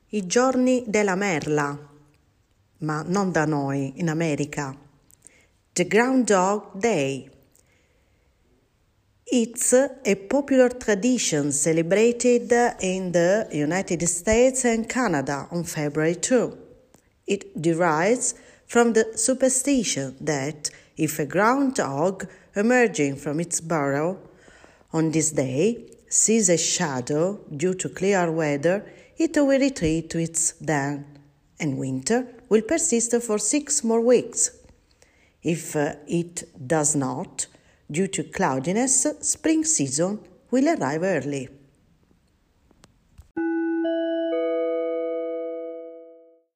I giorni della merla, ma non da noi, in America. The Groundhog Day. It's a popular tradition celebrated in the United States and Canada on February 2. It derives from the superstition that if a groundhog emerging from its burrow on this day sees a shadow due to clear weather, it will retreat to its den, and winter will persist for 6 more weeks. If it does not, due to cloudiness, spring season will arrive early.